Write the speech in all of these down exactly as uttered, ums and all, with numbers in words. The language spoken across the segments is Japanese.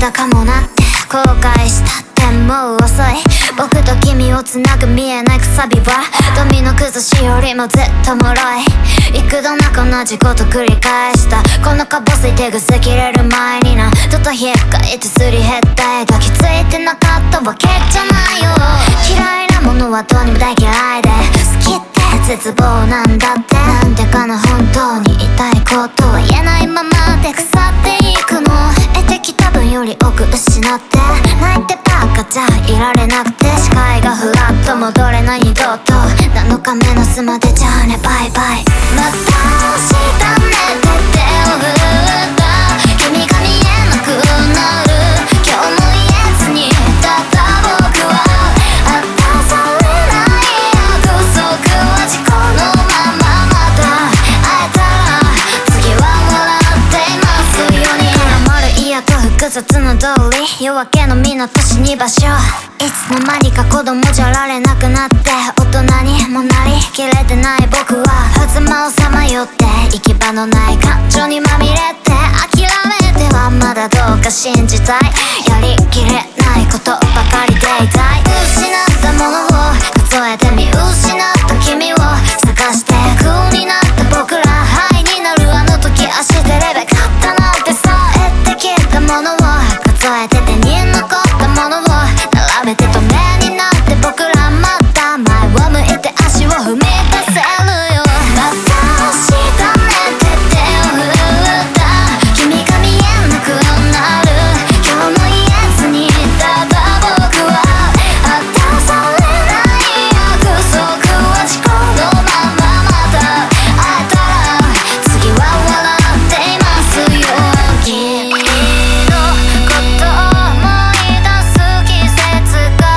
だかもなって後悔したってもう遅い。僕と君をつなぐ見えないくさびはドミノ崩しよりもずっと脆い。幾度なく同じこと繰り返した。このかぼすい手ぐす切れる前になどとひっかいてすり減ったい。抱きついてなかったわけじゃないよ。嫌いなものはどうにも大嫌いで好きって絶望なんだって。なんでかな本当に言いたいことは言えないままで腐っていくの。得てきた分より多く失って泣いてばっかじゃいられなくて視界がふわっと戻れない二度となのか目の巣までじゃあねバイバイ。また明日ねって手を振った君が見えなくなる今日も言えずにただ僕は果たされない約束は事故のまままた会えたら次は笑っていますように。絡まる嫌と複雑な通り夜明けの港死に場所いつの間にか子供じゃられなくなって大人にもなりきれてない僕は狭間をさまよって行き場のない感情にまみれて諦めてはまだどうか信じたい。やりきれないことばかりでいたい。失ったものを数えて見失った君を探して空になった僕らハイになるあの時足でレベ勝ったなんてさ得てきたものを数えて手に残ったものを並べて止めになって僕らまた前を向いて足を踏み出せるよ。また明日ねって手を振った君が見えなくなる今日も言えずにただ僕は果たされない約束は事故のまままた会えたら次は笑っていますよ。君のこと思い出す季節が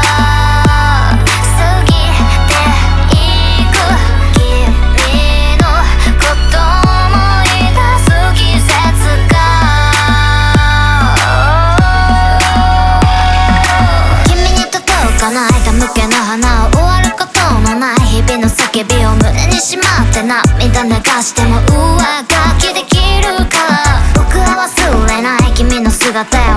過ぎていく。君のこと思い出す季節が君に届かない手向けの花を終わることのない日々の叫びを胸にしまって涙流しても上書きできるから僕は忘れない君の姿